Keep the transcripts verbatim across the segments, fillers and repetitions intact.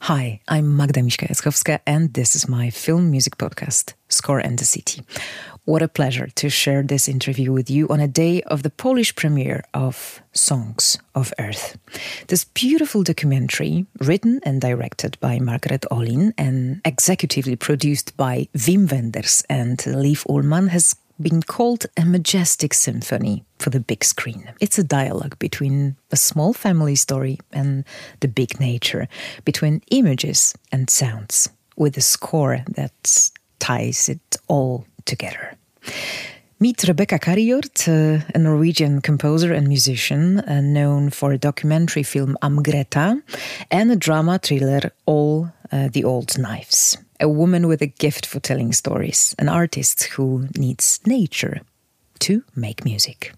Hi, I'm Magda Miśka-Jackowska, and this is my film music podcast, Score and the City. What a pleasure to share this interview with you on a day of the Polish premiere of Songs of Earth. This beautiful documentary, written and directed by Margaret Olin and executively produced by Wim Wenders and Liv Ullmann, has been called a majestic symphony for the big screen. It's a dialogue between a small family story and the big nature, between images and sounds, with a score that ties it all together. Meet Rebecca Karigjord, uh, a Norwegian composer and musician uh, known for a documentary film Am Greta and a drama thriller All uh, the Old Knives. A woman with a gift for telling stories, an artist who needs nature to make music.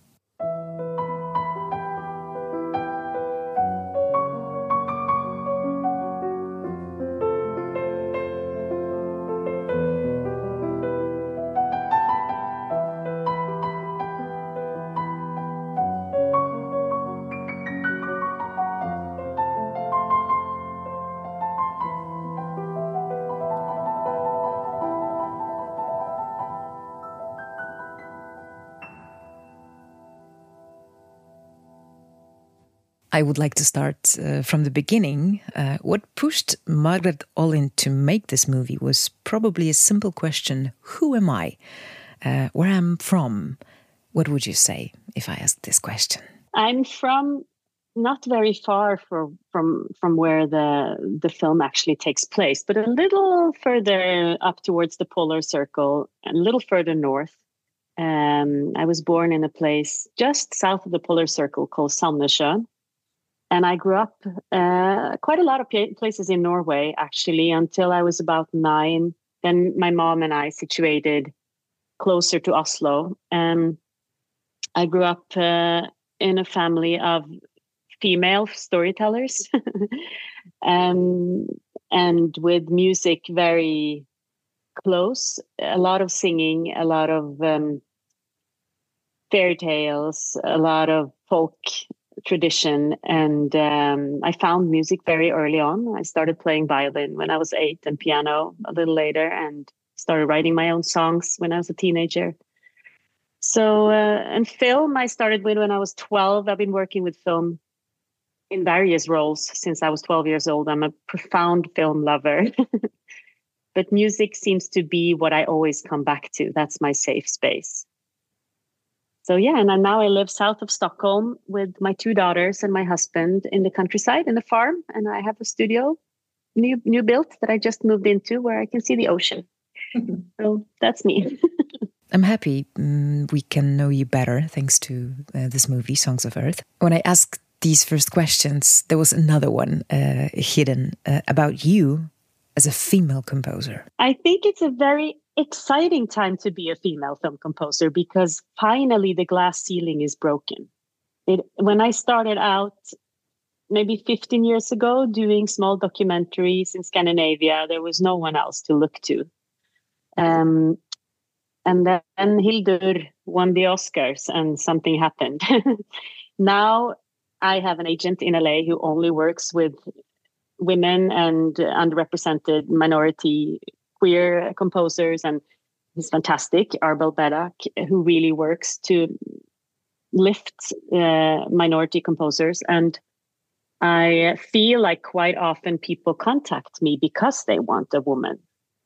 I would like to start uh, from the beginning. Uh, what pushed Margaret Olin to make this movie was probably a simple question: who am I? Uh, where I'm from? What would you say if I asked this question? I'm from not very far from from from where the the film actually takes place, but a little further up towards the polar circle, and a little further north. Um, I was born in a place just south of the polar circle called Sandnessjøen. And I grew up uh, quite a lot of places in Norway, actually, until I was about nine. Then my mom and I situated closer to Oslo. And I grew up uh, in a family of female storytellers and, and with music very close. A lot of singing, a lot of um, fairy tales, a lot of folk tradition, and um, I found music very early on. I started playing violin when I was eight and piano a little later, and started writing my own songs when I was a teenager. So, uh, and film I started with when I was twelve. I've been working with film in various roles since I was twelve years old. I'm a profound film lover. But music seems to be what I always come back to. That's my safe space. So yeah, and now I live south of Stockholm with my two daughters and my husband in the countryside, in a farm. And I have a studio, new new built, that I just moved into where I can see the ocean. So that's me. I'm happy um, we can know you better thanks to uh, this movie, Songs of Earth. When I asked these first questions, there was another one uh, hidden uh, about you as a female composer. I think it's a very exciting time to be a female film composer because finally the glass ceiling is broken. It, when I started out maybe fifteen years ago doing small documentaries in Scandinavia, there was no one else to look to. Um, and then Hildur won the Oscars and something happened. Now I have an agent in L A who only works with women and underrepresented minority queer composers, and he's fantastic, Arbel Berak, who really works to lift uh, minority composers. And I feel like quite often people contact me because they want a woman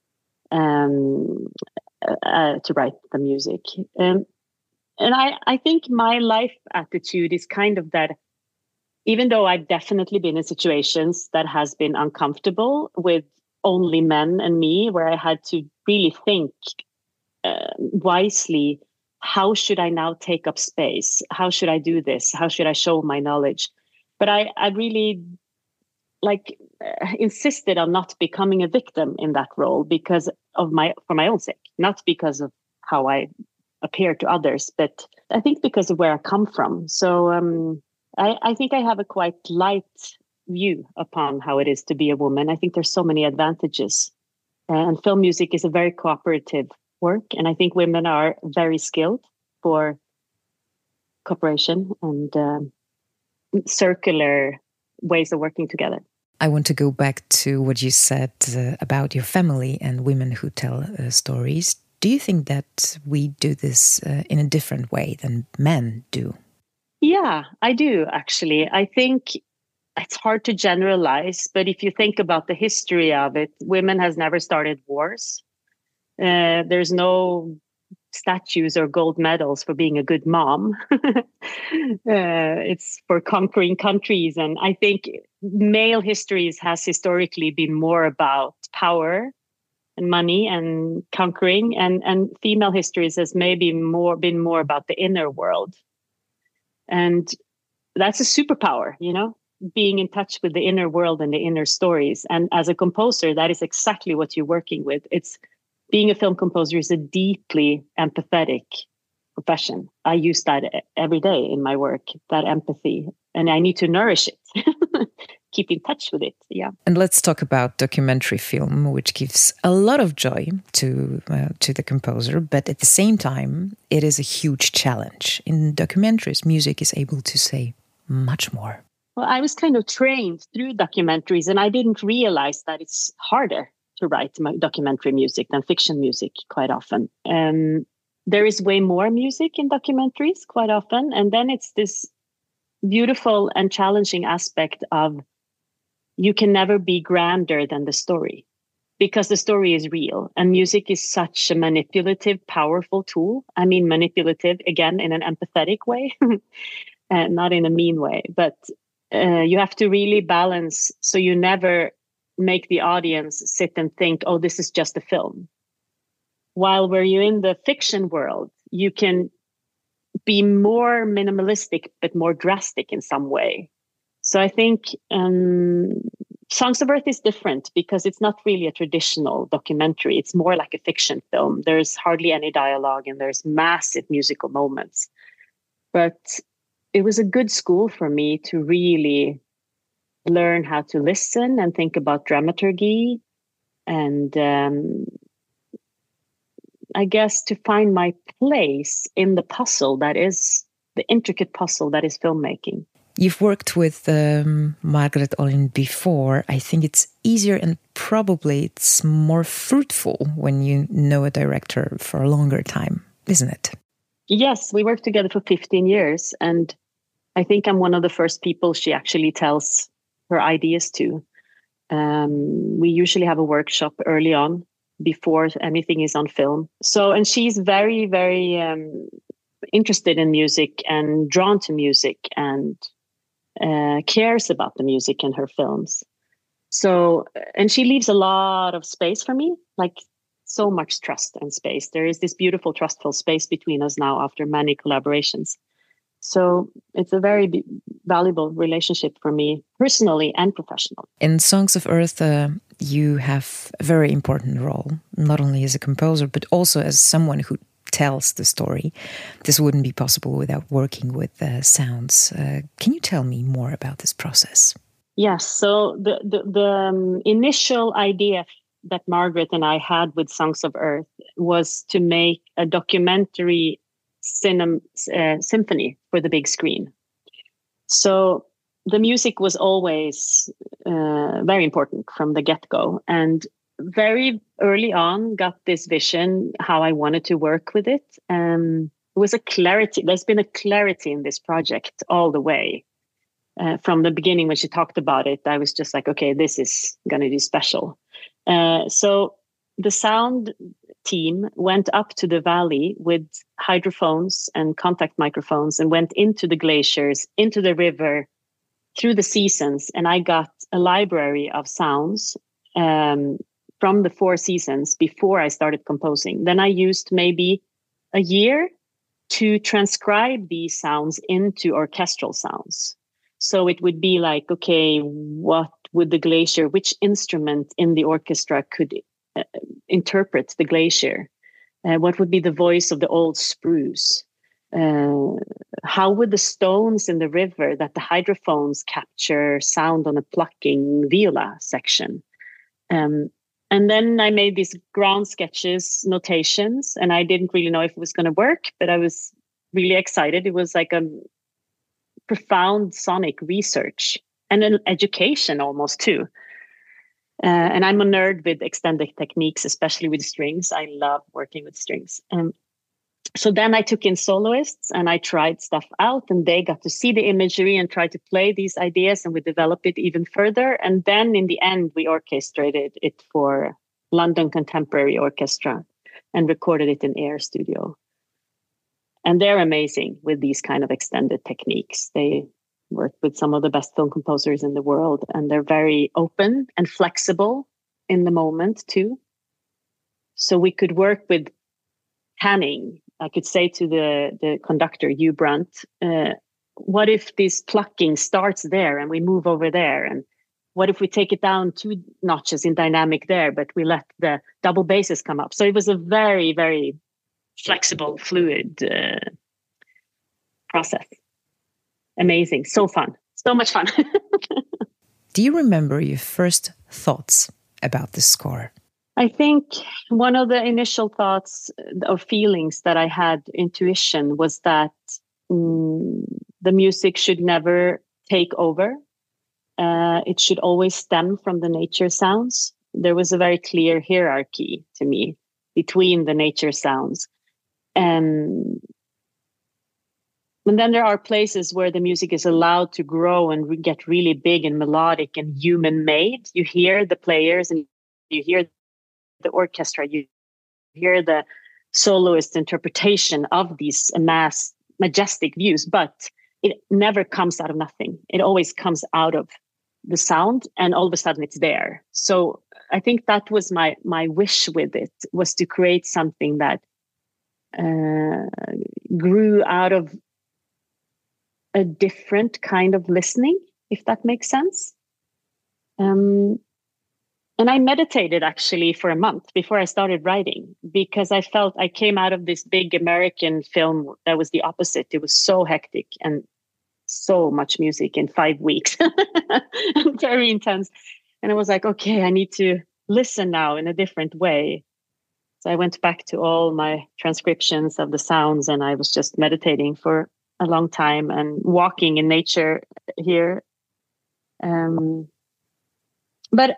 um, uh, to write the music. Um, and I, I think my life attitude is kind of that, even though I've definitely been in situations that has been uncomfortable with only men and me, where I had to really think uh, wisely, how should I now take up space? How should I do this? How should I show my knowledge? But I, I really like uh, insisted on not becoming a victim in that role because of my, for my own sake, not because of how I appear to others, but I think because of where I come from. So um, I, I think I have a quite light view upon how it is to be a woman. I think there's so many advantages. And film music is a very cooperative work. And I think women are very skilled for cooperation and um, circular ways of working together. I want to go back to what you said uh, about your family and women who tell uh, stories. Do you think that we do this uh, in a different way than men do? Yeah, I do, actually. I think it's hard to generalize, but if you think about the history of it, women has never started wars. Uh, there's no statues or gold medals for being a good mom. uh, it's for conquering countries. And I think male histories has historically been more about power and money and conquering, and, and female histories has maybe more been more about the inner world. And that's a superpower, you know, being in touch with the inner world and the inner stories. And as a composer, that is exactly what you're working with. It's being a film composer is a deeply empathetic profession. I use that every day in my work, that empathy, and I need to nourish it, keep in touch with it. Yeah. And let's talk about documentary film, which gives a lot of joy to uh, to the composer, but at the same time, it is a huge challenge. In documentaries, music is able to say much more. Well, I was kind of trained through documentaries, and I didn't realize that it's harder to write documentary music than fiction music quite often. Um, there is way more music in documentaries quite often. And then it's this beautiful and challenging aspect of you can never be grander than the story, because the story is real. And music is such a manipulative, powerful tool. I mean, manipulative, again, in an empathetic way, and not in a mean way. But uh, you have to really balance so you never make the audience sit and think, oh, this is just a film. While where you're in the fiction world, you can be more minimalistic, but more drastic in some way. So I think um, Songs of Earth is different because it's not really a traditional documentary. It's more like a fiction film. There's hardly any dialogue and there's massive musical moments. But it was a good school for me to really learn how to listen and think about dramaturgy, and um, I guess to find my place in the puzzle that is the intricate puzzle that is filmmaking. You've worked with um, Margaret Olin before. I think it's easier and probably it's more fruitful when you know a director for a longer time, isn't it? Yes, we worked together for fifteen years, and I think I'm one of the first people she actually tells her ideas to. Um, we usually have a workshop early on before anything is on film. So, and she's very, very um, interested in music and drawn to music and uh, cares about the music in her films. So, and she leaves a lot of space for me, like so much trust and space. There is this beautiful, trustful space between us now after many collaborations. So it's a very b- valuable relationship for me, personally and professionally. In Songs of Earth, uh, you have a very important role, not only as a composer, but also as someone who tells the story. This wouldn't be possible without working with uh, sounds. Uh, can you tell me more about this process? Yes. So the, the, the um, initial idea that Margaret and I had with Songs of Earth was to make a documentary Cinem, uh, symphony for the big screen. So the music was always uh, very important from the get-go, and very early on got this vision how I wanted to work with it. Um, it was a clarity. There's been a clarity in this project all the way. Uh, from the beginning, when she talked about it, I was just like, okay, this is going to be special. Uh, so the sound team went up to the valley with hydrophones and contact microphones and went into the glaciers, into the river, through the seasons. And I got a library of sounds um, from the four seasons before I started composing. Then I used maybe a year to transcribe these sounds into orchestral sounds. So it would be like, okay, what would the glacier, which instrument in the orchestra could uh, interpret the glacier? Uh, what would be the voice of the old spruce? Uh, how would the stones in the river that the hydrophones capture sound on a plucking viola section? Um, and then I made these ground sketches, notations, and I didn't really know if it was going to work, but I was really excited. It was like a profound sonic research and an education almost too. Uh, and I'm a nerd with extended techniques, especially with strings. I love working with strings. Um, so then I took in soloists and I tried stuff out, and they got to see the imagery and try to play these ideas, and we developed it even further. And then in the end, we orchestrated it for London Contemporary Orchestra and recorded it in Air Studio. And they're amazing with these kind of extended techniques. They work with some of the best film composers in the world, and they're very open and flexible in the moment too. So we could work with panning. I could say to the, the conductor, Hugh Brunt, uh, what if this plucking starts there and we move over there? And what if we take it down two notches in dynamic there, but we let the double basses come up? So it was a very, very flexible, fluid uh, process. Amazing. So fun. So much fun. Do you remember your first thoughts about the score? I think one of the initial thoughts or feelings that I had, intuition, was that mm, the music should never take over. Uh, it should always stem from the nature sounds. There was a very clear hierarchy to me between the nature sounds. And, and then there are places where the music is allowed to grow and re- get really big and melodic and human-made. You hear the players and you hear the orchestra, you hear the soloist interpretation of these mass majestic views, but it never comes out of nothing. It always comes out of the sound, and all of a sudden it's there. So I think that was my my wish with it, was to create something that uh, grew out of a different kind of listening, if that makes sense. Um, And I meditated actually for a month before I started writing, because I felt I came out of this big American film that was the opposite. It was so hectic and so much music in five weeks, very intense. And I was like, okay, I need to listen now in a different way. So I went back to all my transcriptions of the sounds, and I was just meditating for a long time and walking in nature here. Um, but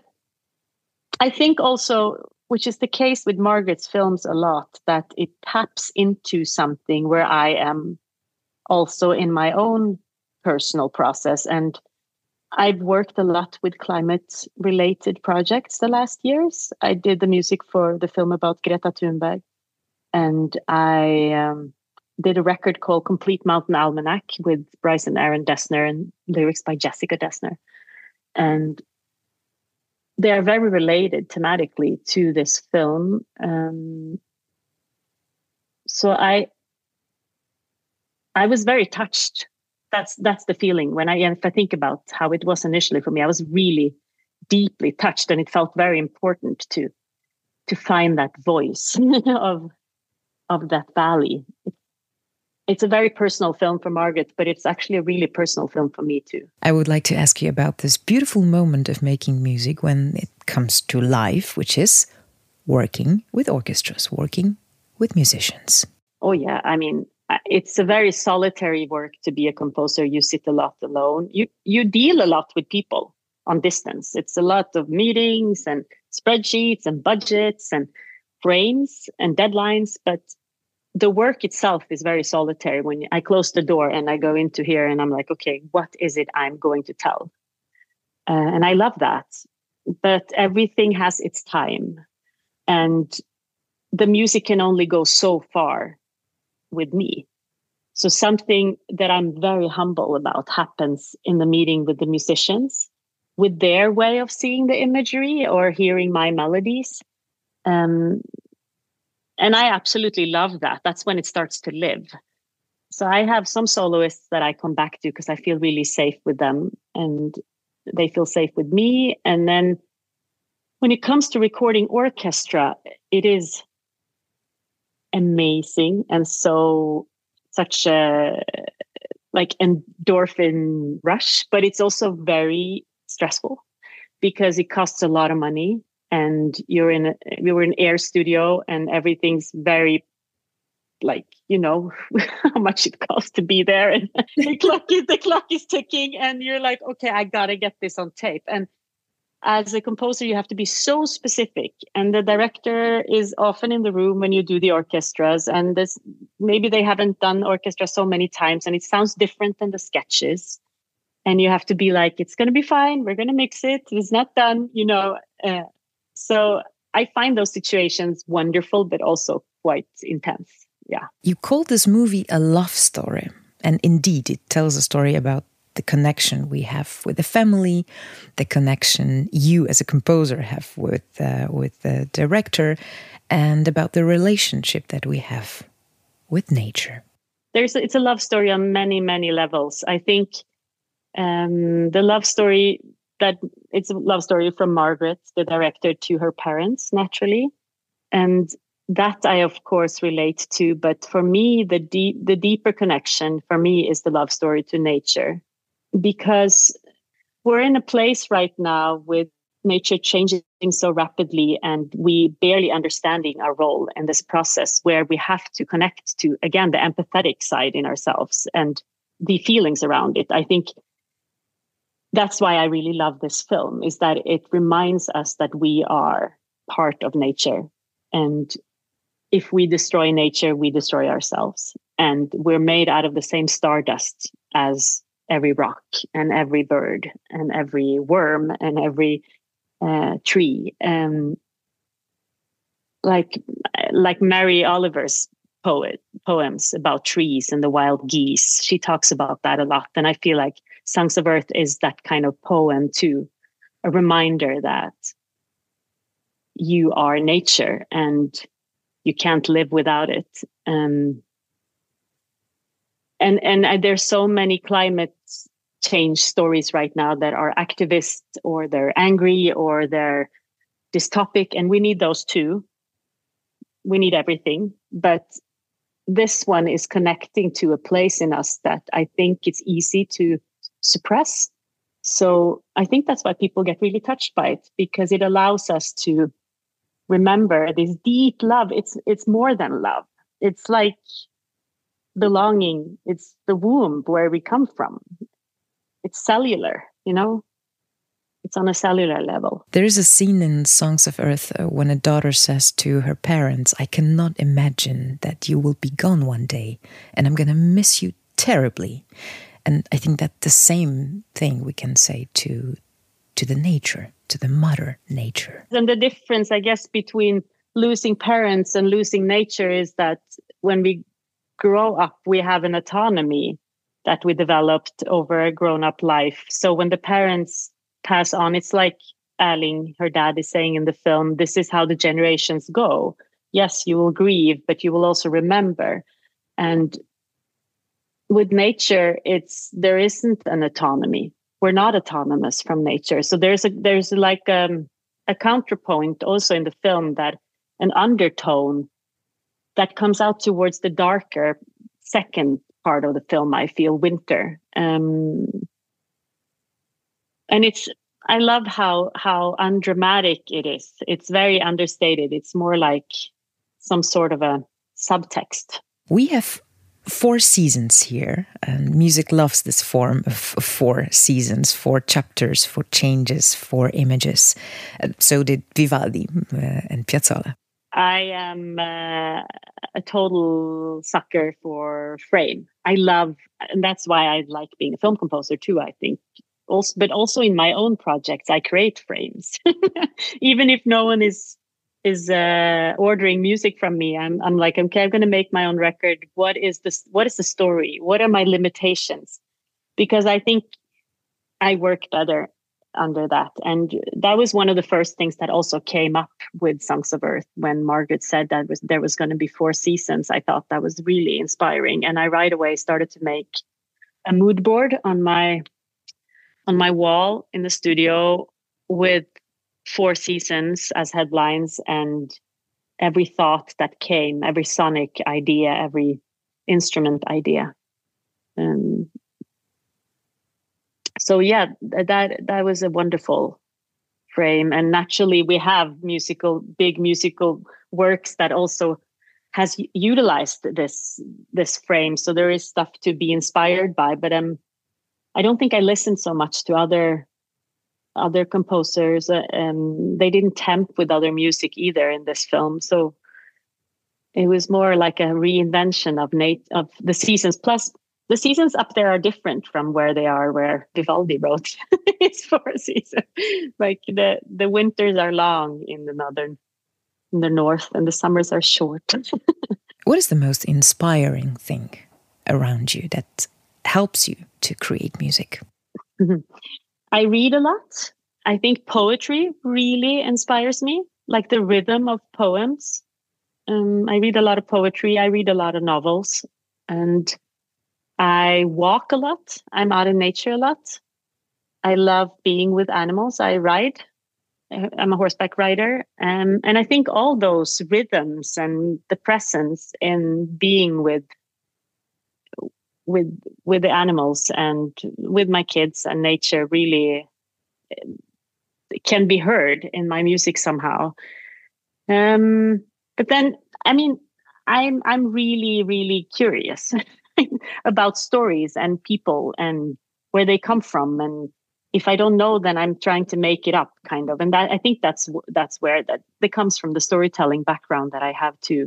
I think also, which is the case with Margaret's films a lot, that it taps into something where I am also in my own personal process. And I've worked a lot with climate-related projects the last years. I did the music for the film about Greta Thunberg. And I um, did a record called Complete Mountain Almanac with Bryce and Aaron Dessner and lyrics by Jessica Dessner. And they are very related thematically to this film. Um, so I, I was very touched. That's that's the feeling when I, if I think about how it was initially for me, I was really deeply touched, and it felt very important to, to find that voice of, of that valley. It, it's a very personal film for Margaret, but it's actually a really personal film for me too. I would like to ask you about this beautiful moment of making music when it comes to life, which is working with orchestras, working with musicians. Oh yeah, I mean, it's a very solitary work to be a composer. You sit a lot alone. You you deal a lot with people on distance. It's a lot of meetings and spreadsheets and budgets and frames and deadlines, but the work itself is very solitary. When I close the door and I go into here and I'm like, okay, what is it I'm going to tell? Uh, and I love that. But everything has its time. And the music can only go so far with me. So something that I'm very humble about happens in the meeting with the musicians, with their way of seeing the imagery or hearing my melodies. Um, And I absolutely love that. That's when it starts to live. So I have some soloists that I come back to because I feel really safe with them and they feel safe with me. And then when it comes to recording orchestra, it is amazing. And so such a like endorphin rush, but it's also very stressful because it costs a lot of money. And you're in a, we were in Air Studio and everything's very like, you know, how much it costs to be there. And the clock is, the clock is ticking and you're like, okay, I got to get this on tape. And as a composer, you have to be so specific. And the director is often in the room when you do the orchestras. And this, maybe they haven't done orchestra so many times and it sounds different than the sketches. And you have to be like, it's going to be fine. We're going to mix it. It's not done, you know. Uh, so I find those situations wonderful, but also quite intense. Yeah. You called this movie a love story. And indeed, it tells a story about the connection we have with the family, the connection you as a composer have with, uh, with the director, and about the relationship that we have with nature. There's It's a love story on many, many levels. I think um, the love story that it's a love story from Margaret, the director, to her parents, naturally. And that I, of course, relate to. But for me, the deep, the deeper connection for me is the love story to nature. Because we're in a place right now with nature changing so rapidly and we barely understanding our role in this process, where we have to connect to, again, the empathetic side in ourselves and the feelings around it. I think that's why I really love this film, is that it reminds us that we are part of nature. And if we destroy nature, we destroy ourselves. And we're made out of the same stardust as every rock and every bird and every worm and every uh, tree. Um, like like Mary Oliver's poet poems about trees and the wild geese. She talks about that a lot. And I feel like Songs of Earth is that kind of poem too, a reminder that you are nature and you can't live without it. Um, and and uh, there's so many climate change stories right now that are activists or they're angry or they're dystopic, and we need those too. We need everything, but this one is connecting to a place in us that I think it's easy to suppress. So I think that's why people get really touched by it, because it allows us to remember this deep love. It's it's more than love. It's like belonging. It's the womb where we come from. It's cellular, you know? It's on a cellular level. There is a scene in Songs of Earth uh, when a daughter says to her parents, I cannot imagine that you will be gone one day and I'm going to miss you terribly. And I think that the same thing we can say to to the nature, to the mother nature. And the difference, I guess, between losing parents and losing nature is that when we grow up, we have an autonomy that we developed over a grown-up life. So when the parents pass on, it's like Erling, her dad, is saying in the film, this is how the generations go. Yes, you will grieve, but you will also remember. And with nature, it's there isn't an autonomy. We're not autonomous from nature. So there's a there's like um, a counterpoint also in the film, that an undertone that comes out towards the darker second part of the film, I feel, winter. Um, and it's I love how how undramatic it is. It's very understated. It's more like some sort of a subtext. We have four seasons here, and music loves this form of four seasons, four chapters, four changes, four images. Uh, so did Vivaldi uh, and Piazzolla. I am uh, a total sucker for frame. I love, and that's why I like being a film composer too, I think. Also, but also in my own projects, I create frames. Even if no one is is uh, ordering music from me, I'm I'm like, okay, I'm going to make my own record. What is this? What is the story? What are my limitations? Because I think I work better under that. And that was one of the first things that also came up with Songs of Earth when Margaret said that was there was going to be four seasons. I thought that was really inspiring, and I right away started to make a mood board on my on my wall in the studio with four seasons as headlines, and every thought that came, every sonic idea, every instrument idea. Um, so yeah, that that was a wonderful frame. And naturally we have musical, big musical works that also has utilized this this frame. So there is stuff to be inspired by, but um, I don't think I listened so much to other other composers. Uh, um, they didn't tempt with other music either in this film, so it was more like a reinvention of Nate of the seasons. Plus, the seasons up there are different from where they are where Vivaldi wrote his four seasons. Like the the winters are long in the northern, in the north, and the summers are short. What is the most inspiring thing around you that helps you to create music? I read a lot. I think poetry really inspires me, like the rhythm of poems. Um, I read a lot of poetry. I read a lot of novels, and I walk a lot. I'm out in nature a lot. I love being with animals. I ride. I'm a horseback rider. Um, and I think all those rhythms and the presence in being with with with the animals and with my kids and nature really can be heard in my music somehow. Um, but then, I mean, I'm I'm really, really curious about stories and people and where they come from. And if I don't know, then I'm trying to make it up, kind of. And that, I think that's that's where that, that comes from, the storytelling background that I have too.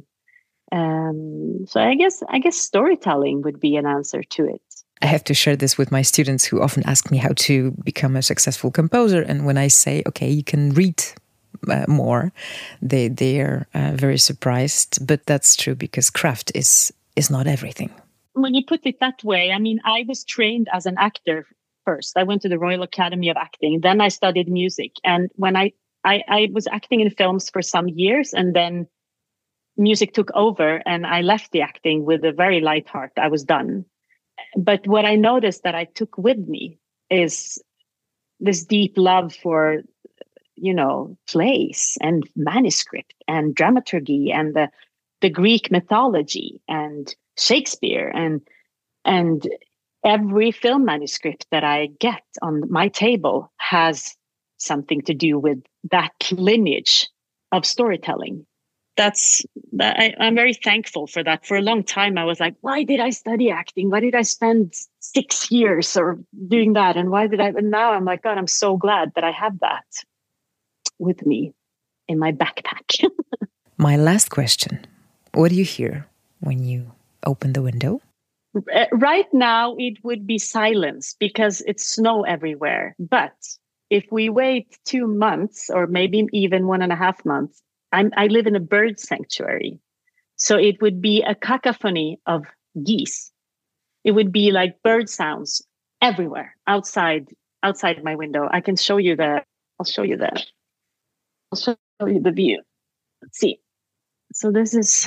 Um, so I guess I guess storytelling would be an answer to it. I have to share this with my students who often ask me how to become a successful composer. And when I say, okay, you can read uh, more, they they are uh, very surprised. But that's true, because craft is is not everything. When you put it that way, I mean, I was trained as an actor first. I went to the Royal Academy of Acting. Then I studied music. And when I, I, I was acting in films for some years, and then music took over and I left the acting with a very light heart. I was done. But what I noticed that I took with me is this deep love for, you know, plays and manuscript and dramaturgy and the, the Greek mythology and Shakespeare and and every film manuscript that I get on my table has something to do with that lineage of storytelling. That's that I, I'm very thankful for that. For a long time, I was like, why did I study acting? Why did I spend six years or doing that? And why did I? And now I'm like, God, I'm so glad that I have that with me in my backpack. My last question: what do you hear when you open the window? Right now, it would be silence because it's snow everywhere. But if we wait two months or maybe even one and a half months, I'm, I live in a bird sanctuary. So it would be a cacophony of geese. It would be like bird sounds everywhere outside, outside my window. I can show you the, I'll show you the, I'll show you the view. Let's see. So this is,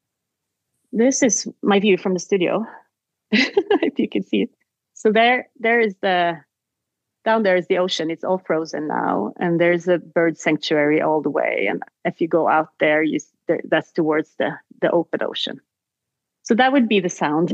this is my view from the studio. If you can see it. So there, there is the, down there is the ocean. It's all frozen now. And there's a bird sanctuary all the way. And if you go out there, you there, that's towards the, the open ocean. So that would be the sound.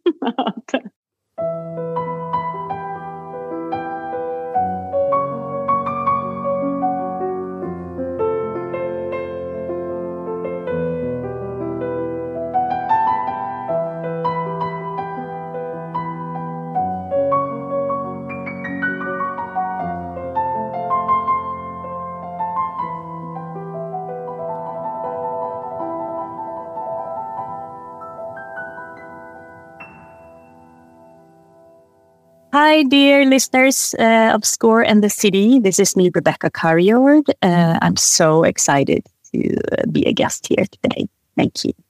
Hi, dear listeners uh, of Score and the City. This is me, Rebecca Carriord. Uh, I'm so excited to be a guest here today. Thank you.